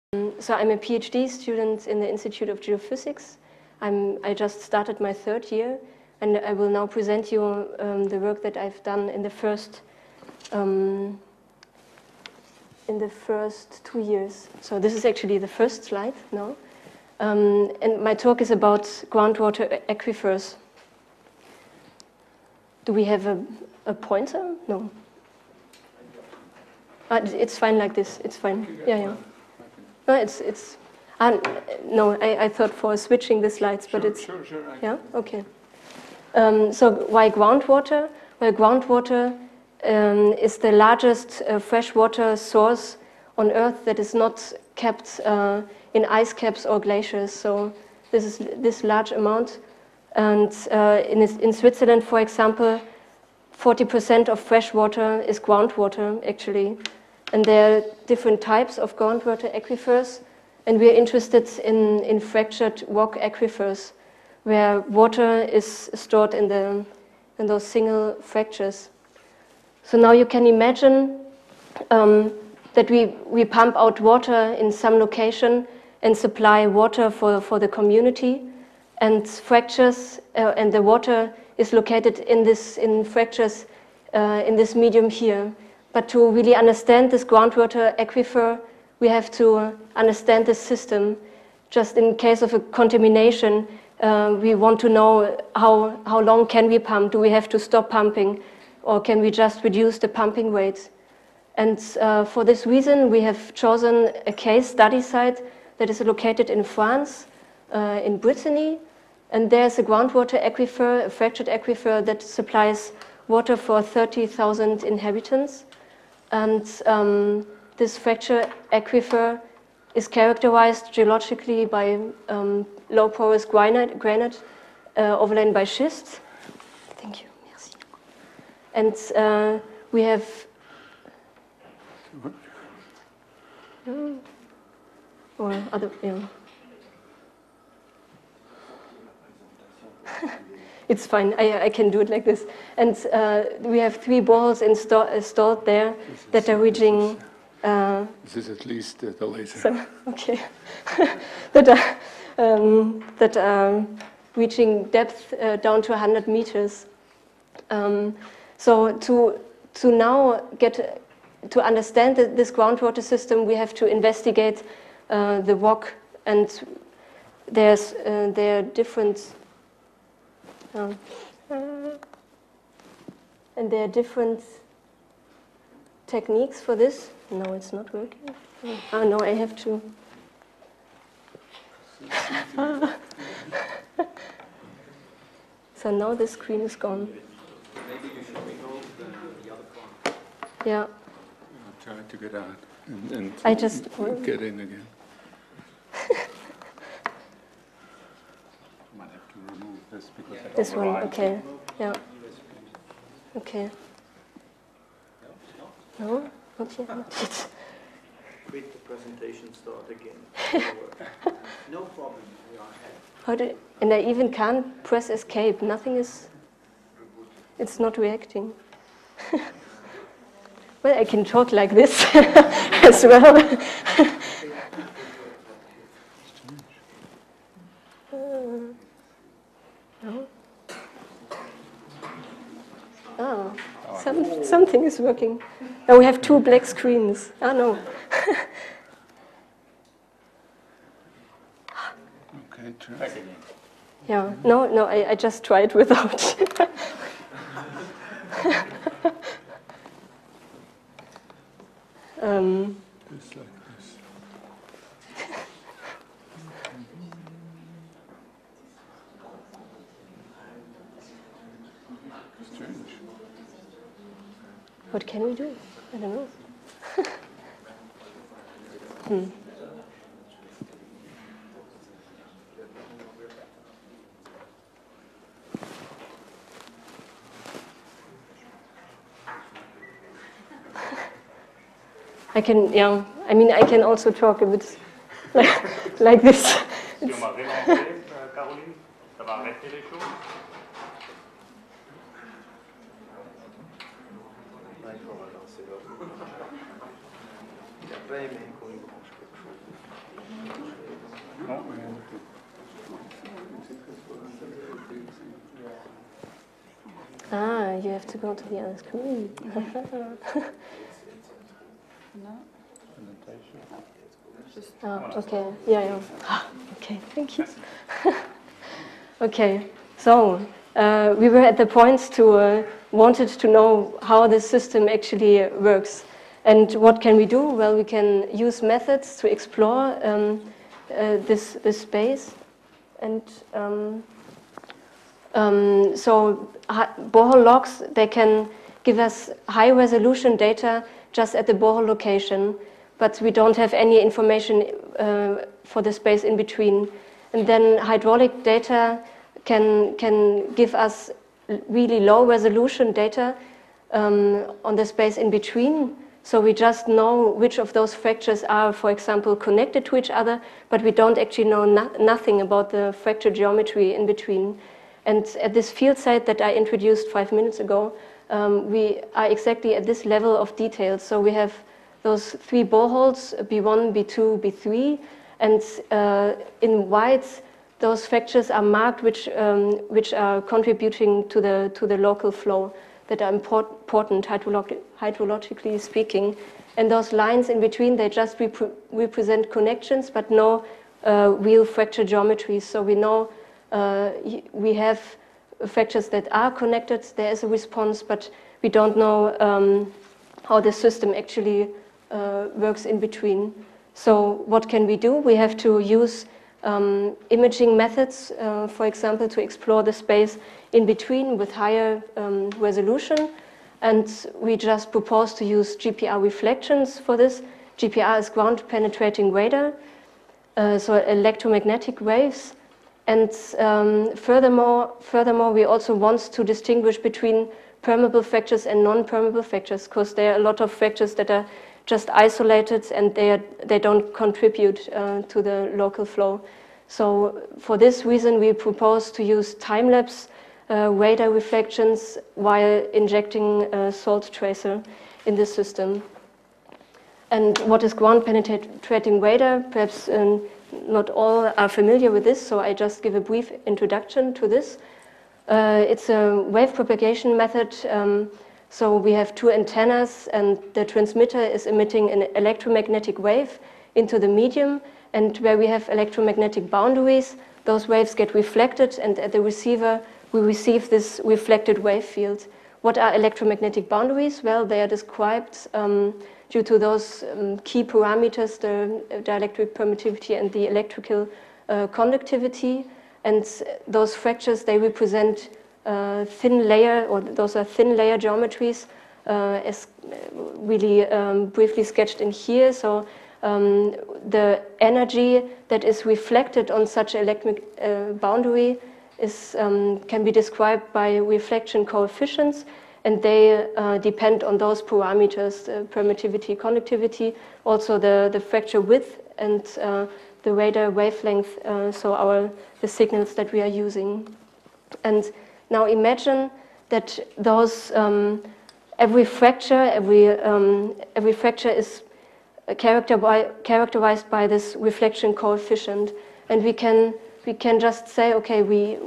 So I'm a PhD student in the Institute of Geophysics. I just started my third year, and I will now present you the work that I've done in the first 2 years. So this is actually the first slide now. And my talk is about groundwater aquifers. Do we have a pointer? No. It's fine like this. It's fine. Yeah. No, no. I thought for switching the slides, but it's sure. Yeah. Okay. So why groundwater? Well, groundwater is the largest freshwater source on Earth that is not kept in ice caps or glaciers. So this is this large amount. And in Switzerland, for example, 40% of fresh water is groundwater, actually. And there are different types of groundwater aquifers. And we're interested in fractured rock aquifers, where water is stored in those single fractures. So now you can imagine that we pump out water in some location and supply water for the community, and fractures and the water is located in fractures in this medium here. But to really understand this groundwater aquifer, we have to understand the system. Just in case of a contamination, we want to know how long can we pump? Do we have to stop pumping? Or can we just reduce the pumping rate? And for this reason, we have chosen a case study site that is located in France, in Brittany. And there's a groundwater aquifer, a fractured aquifer that supplies water for 30,000 inhabitants. And this fractured aquifer is characterized geologically by low porous granite overlain by schist. Thank you. Merci. And we have or other, It's fine. I can do it like this. And we have 3 balls installed there that are reaching. This is at least the laser. Okay. that are reaching depth down to 100 meters. So to now get to understand this groundwater system, we have to investigate the rock, and there are different. And there are different techniques for this. No, it's not working. Oh no, I have to. So now the screen is gone. Maybe you should remove the other part. Yeah. I'll try to get out and I just get in again. Might have to remove this because I this one, override. okay. Yeah. Okay. No, not yet. Not yet. Quit the presentation, start again. No problem, we are ahead. How do? And I even can't press escape. Nothing is. It's not reacting. Well, I can talk like this as well. No. Oh, something is working. Now we have 2 black screens. Oh no. Okay, try. Yeah. No. I just tried without. Just like this. Strange. What can we do? I don't know. I can, I mean, I can also talk a bit like this. Si on m'avait demandé, Caroline, ça va arrêter les choses. Ah, you have to go to the other screen. Oh, okay. Yeah, yeah. Okay, thank you. Okay, so we were at the point to wanted to know how the system actually works. And what can we do? Well, we can use methods to explore this space. And so borehole logs, they can give us high resolution data just at the borehole location, but we don't have any information for the space in between. And then hydraulic data can give us really low resolution data on the space in between. So we just know which of those fractures are, for example, connected to each other, but we don't actually know nothing about the fracture geometry in between. And at this field site that I introduced 5 minutes ago, we are exactly at this level of detail. So we have those 3 boreholes, B1, B2, B3, and in white, those fractures are marked which are contributing to the local flow that are important hydrologically speaking. And those lines in between, they just represent connections, but no real fracture geometry. So we know we have fractures that are connected, there is a response, but we don't know how the system actually works in between. So what can we do? We have to use imaging methods, for example, to explore the space in between with higher resolution. And we just propose to use GPR reflections for this. GPR is ground penetrating radar, so electromagnetic waves. And furthermore, we also want to distinguish between permeable fractures and non-permeable fractures, because there are a lot of fractures that are just isolated and they don't contribute to the local flow. So for this reason, we propose to use time-lapse radar reflections while injecting a salt tracer in the system. And what is ground penetrating radar? Perhaps not all are familiar with this, so I just give a brief introduction to this. It's a wave propagation method. So we have 2 antennas, and the transmitter is emitting an electromagnetic wave into the medium. And where we have electromagnetic boundaries, those waves get reflected, and at the receiver, we receive this reflected wave field. What are electromagnetic boundaries? Well, they are described due to those key parameters, the dielectric permittivity and the electrical conductivity. And those fractures, they represent thin layer, or those are thin layer geometries, as really briefly sketched in here. So the energy that is reflected on such electric boundary is, can be described by reflection coefficients, and they depend on those parameters, permittivity, conductivity, also the fracture width and the radar wavelength, so the signals that we are using. And now imagine that those every fracture is characterized by this reflection coefficient, and we can just say, okay,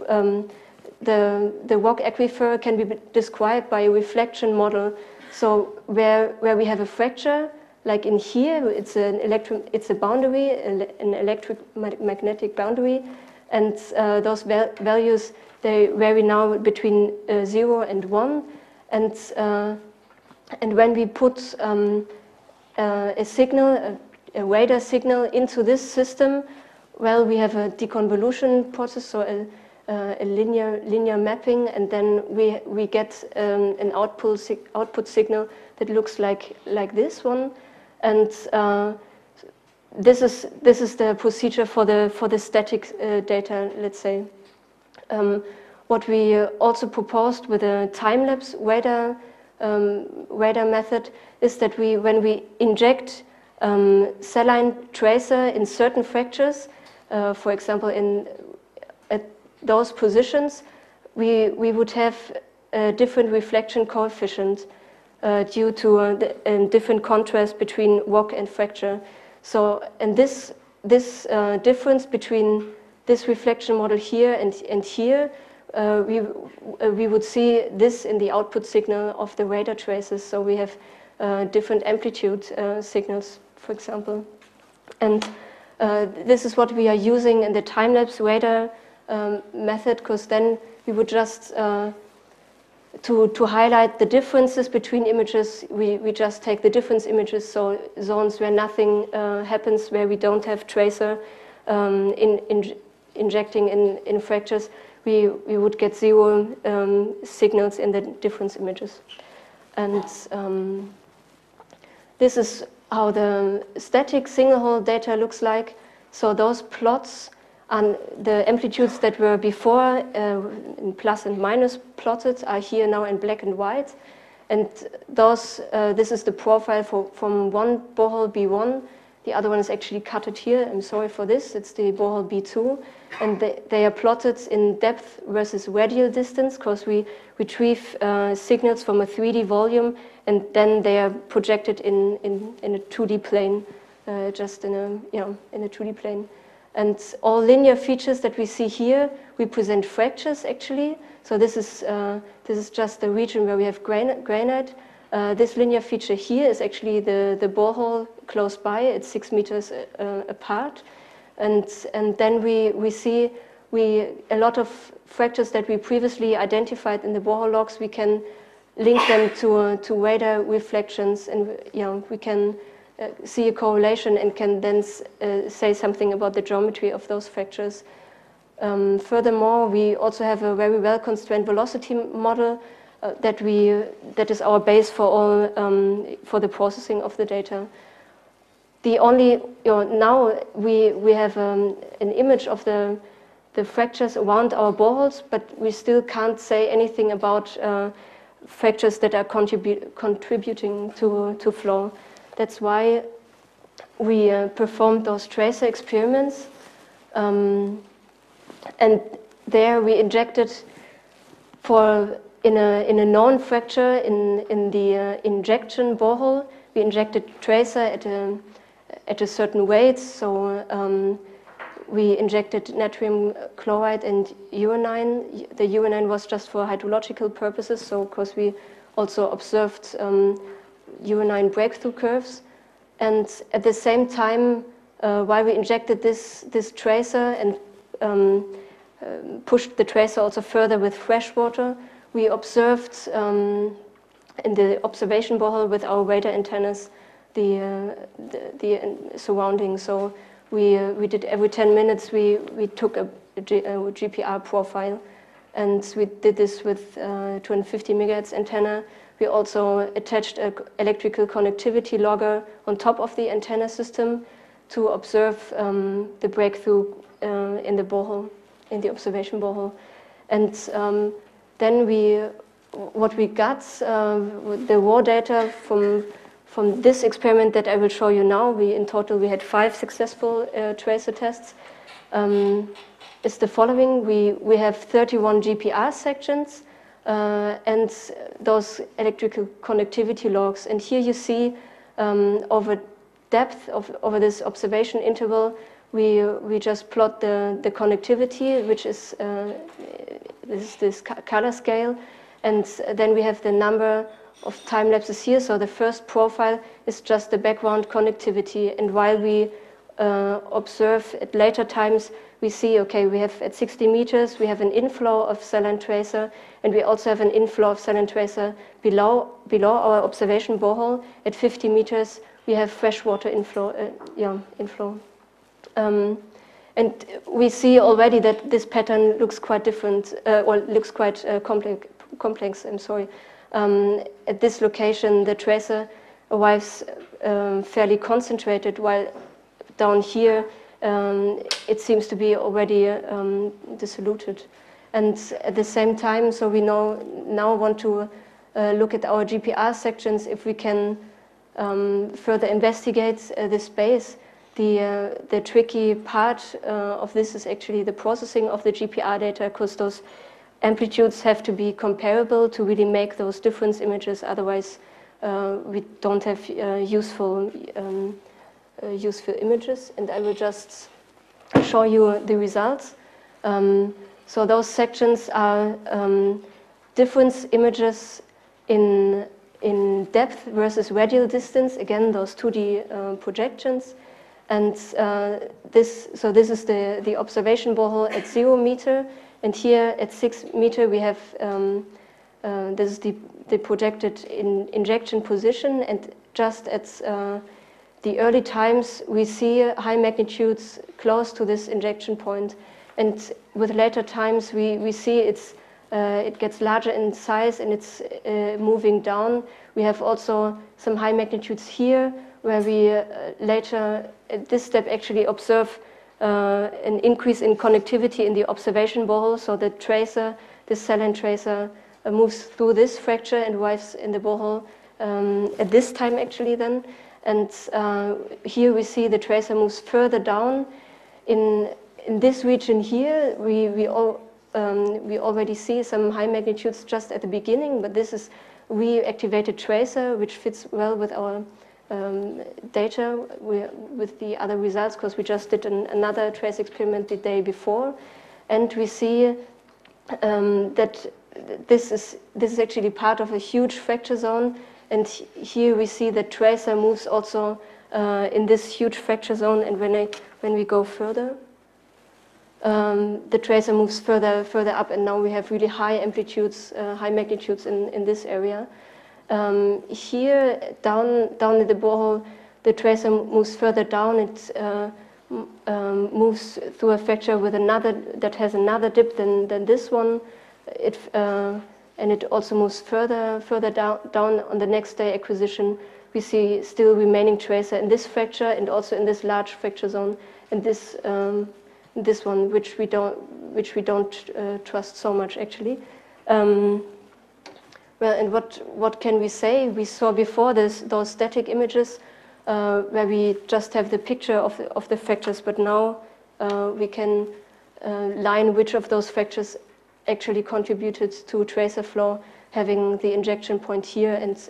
the rock aquifer can be described by a reflection model. So where we have a fracture, like in here, it's a boundary, an electromagnetic boundary, and those values, they vary now between 0 and 1, and when we put a signal, a radar signal into this system, well, we have a deconvolution process, so a linear mapping, and then we get an output signal that looks like this one, and this is the procedure for the static data, let's say. What we also proposed with a time-lapse radar method is that when we inject saline tracer in certain fractures, for example, at those positions, we would have a different reflection coefficient. due to the different contrast between rock and fracture. So, and this difference between this reflection model here and here, we would see this in the output signal of the radar traces. So we have different amplitude signals, for example. And this is what we are using in the time-lapse radar method, because then we would just, to highlight the differences between images, we just take the difference images, so zones where nothing happens, where we don't have tracer injecting in fractures, we would get zero signals in the difference images. And this is how the static single-hole data looks like. So those plots and the amplitudes that were before in plus and minus plotted are here now in black and white. And those, this is the profile from one borehole B1. The other one is actually cutted here. I'm sorry for this. It's the borehole B2. And they are plotted in depth versus radial distance, because we retrieve signals from a 3D volume, and then they are projected in a 2D plane, just in a 2D plane. And all linear features that we see here represent fractures, actually. So this is just the region where we have granite. This linear feature here is actually the borehole close by. It's 6 meters apart. And then we see a lot of fractures that we previously identified in the borehole logs. We can link them to radar reflections, and we can see a correlation and can then say something about the geometry of those fractures. Furthermore, we also have a very well-constrained velocity model that is our base for all for the processing of the data. The only now we have an image of the fractures around our boreholes, but we still can't say anything about fractures that are contributing to flow. That's why we performed those tracer experiments, and there we injected in a known fracture in the injection borehole. We injected tracer at a certain weight, so we injected natrium chloride and uranine. The uranine was just for hydrological purposes, so of course we also observed uranine breakthrough curves. And at the same time, while we injected this tracer and pushed the tracer also further with fresh water, we observed in the observation borehole with our radar antennas the surroundings. So we did every 10 minutes we took a GPR profile, and we did this with 250 megahertz antenna. We also attached an electrical connectivity logger on top of the antenna system to observe the breakthrough in the borehole, in the observation borehole. And then what we got, the raw data from this experiment that I will show you now, in total we had 5 successful tracer tests, is the following. We have 31 GPR sections, and those electrical connectivity logs. And here you see over depth over this observation interval, we just plot the connectivity, which is this color scale, and then we have the number of time lapses here. So the first profile is just the background connectivity, and while we observe at later times, we see, okay, we have at 60 meters, we have an inflow of saline tracer, and we also have an inflow of saline tracer below our observation borehole. At 50 meters, we have freshwater inflow. And we see already that this pattern looks quite different, or looks quite complex. I'm sorry. At this location, the tracer arrives fairly concentrated, while down here, it seems to be already dissoluted. And at the same time, so we now want to look at our GPR sections if we can further investigate the space. The tricky part of this is actually the processing of the GPR data, because those amplitudes have to be comparable to really make those difference images. Otherwise, we don't have useful images, and I will just show you the results. So those sections are difference images in depth versus radial distance. Again, those 2D projections. And this is the observation borehole at 0 meter. And here at 6 meter, we have this is the projected injection position. And just at the early times, we see high magnitudes close to this injection point. And with later times, we see it gets larger in size and it's moving down. We have also some high magnitudes here, where we later, at this step, actually observe an increase in connectivity in the observation borehole. So the tracer, this saline tracer, moves through this fracture and arrives in the borehole at this time, actually, then. And here we see the tracer moves further down. In this region here, we already see some high magnitudes just at the beginning, but this is reactivated tracer, which fits well with our data, with the other results, because we just did another trace experiment the day before, and we see that this is actually part of a huge fracture zone, and here we see that tracer moves also in this huge fracture zone, and when we go further, the tracer moves further up, and now we have really high amplitudes, high magnitudes in this area. Here, down in the borehole, the tracer moves further down. It moves through a fracture with that has another dip than this one. And it also moves further down on the next day acquisition. We see still remaining tracer in this fracture and also in this large fracture zone, and this one, which we don't trust so much, actually. Well, and what can we say? We saw before those static images where we just have the picture of the fractures, but now we can line which of those fractures actually contributed to tracer flow, having the injection point here and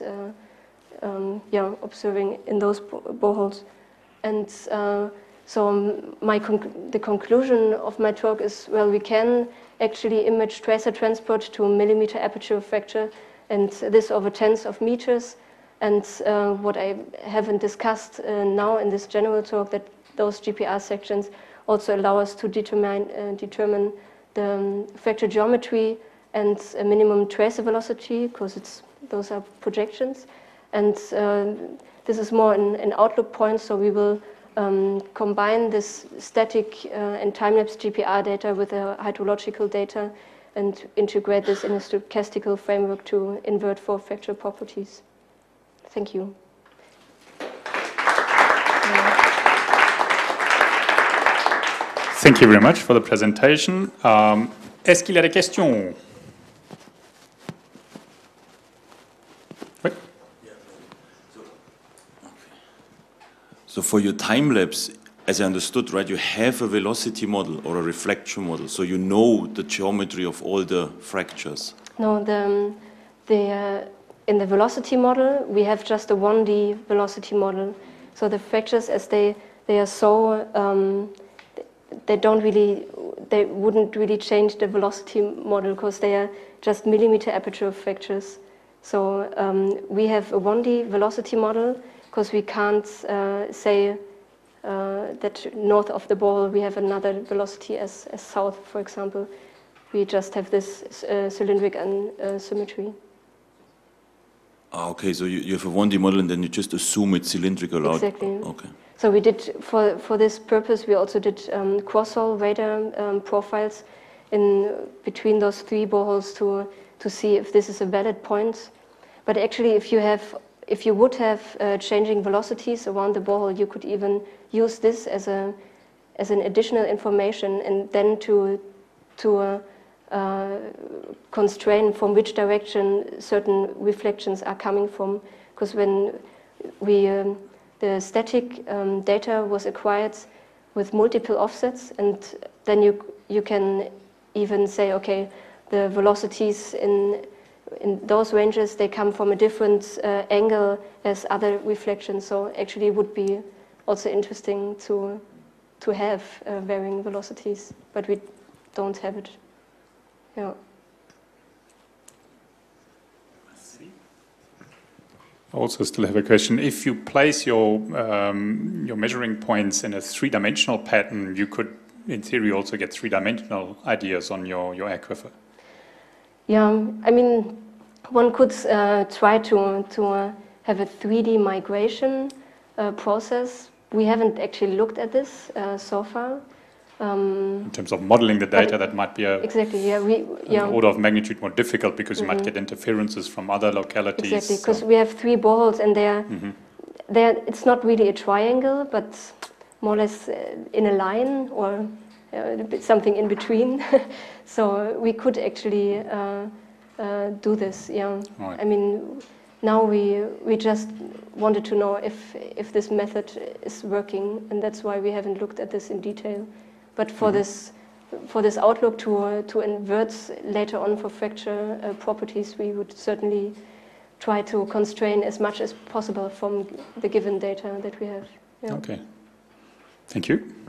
observing in those boreholes. And so the conclusion of my talk is, well, we can actually image tracer transport to a millimeter aperture fracture, and this over tens of meters. And what I haven't discussed now in this general talk, that those GPR sections also allow us to determine the fracture geometry and a minimum tracer velocity, because those are projections. And this is more an outlook point, so we will combine this static and time-lapse GPR data with the hydrological data and integrate this in a stochastical framework to invert for fracture properties. Thank you. Thank you very much for the presentation. Est-ce qu'il y a des questions? Oui. So for your time lapse, as I understood, right, you have a velocity model or a reflection model, so you know the geometry of all the fractures. No, in the velocity model, we have just a 1D velocity model. So the fractures, as they are so, they wouldn't really change the velocity model, because they are just millimeter aperture fractures. So we have a 1D velocity model, because we can't say that north of the ball we have another velocity as south, for example. We just have this cylindric symmetry. Okay, so you have a 1D model and then you just assume it's cylindrical out. Exactly. Okay. So we did, for this purpose, we also did cross-hole radar profiles in between those three boreholes to see if this is a valid point. But actually, if you would have changing velocities around the borehole, you could even use this as an additional information, and then to constrain from which direction certain reflections are coming from. Because when the static data was acquired with multiple offsets, and then you can even say, okay, the velocities in those ranges, they come from a different angle as other reflections. So actually, it would be also interesting to have varying velocities, but we don't have it. Yeah. I also still have a question. If you place your measuring points in a three-dimensional pattern, you could, in theory, also get three-dimensional ideas on your aquifer. Yeah, I mean, one could try to have a 3D migration process. We haven't actually looked at this so far. In terms of modeling the data, that might be exactly, yeah, an order of magnitude more difficult because you might get interferences from other localities. Exactly, because we have 3 boreholes and it's not really a triangle, but more or less in a line or something in between. So we could actually do this, yeah. Right. I mean, now we just wanted to know if this method is working, and that's why we haven't looked at this in detail. But for this outlook to invert later on for fracture properties, we would certainly try to constrain as much as possible from the given data that we have. Yeah. Okay. Thank you.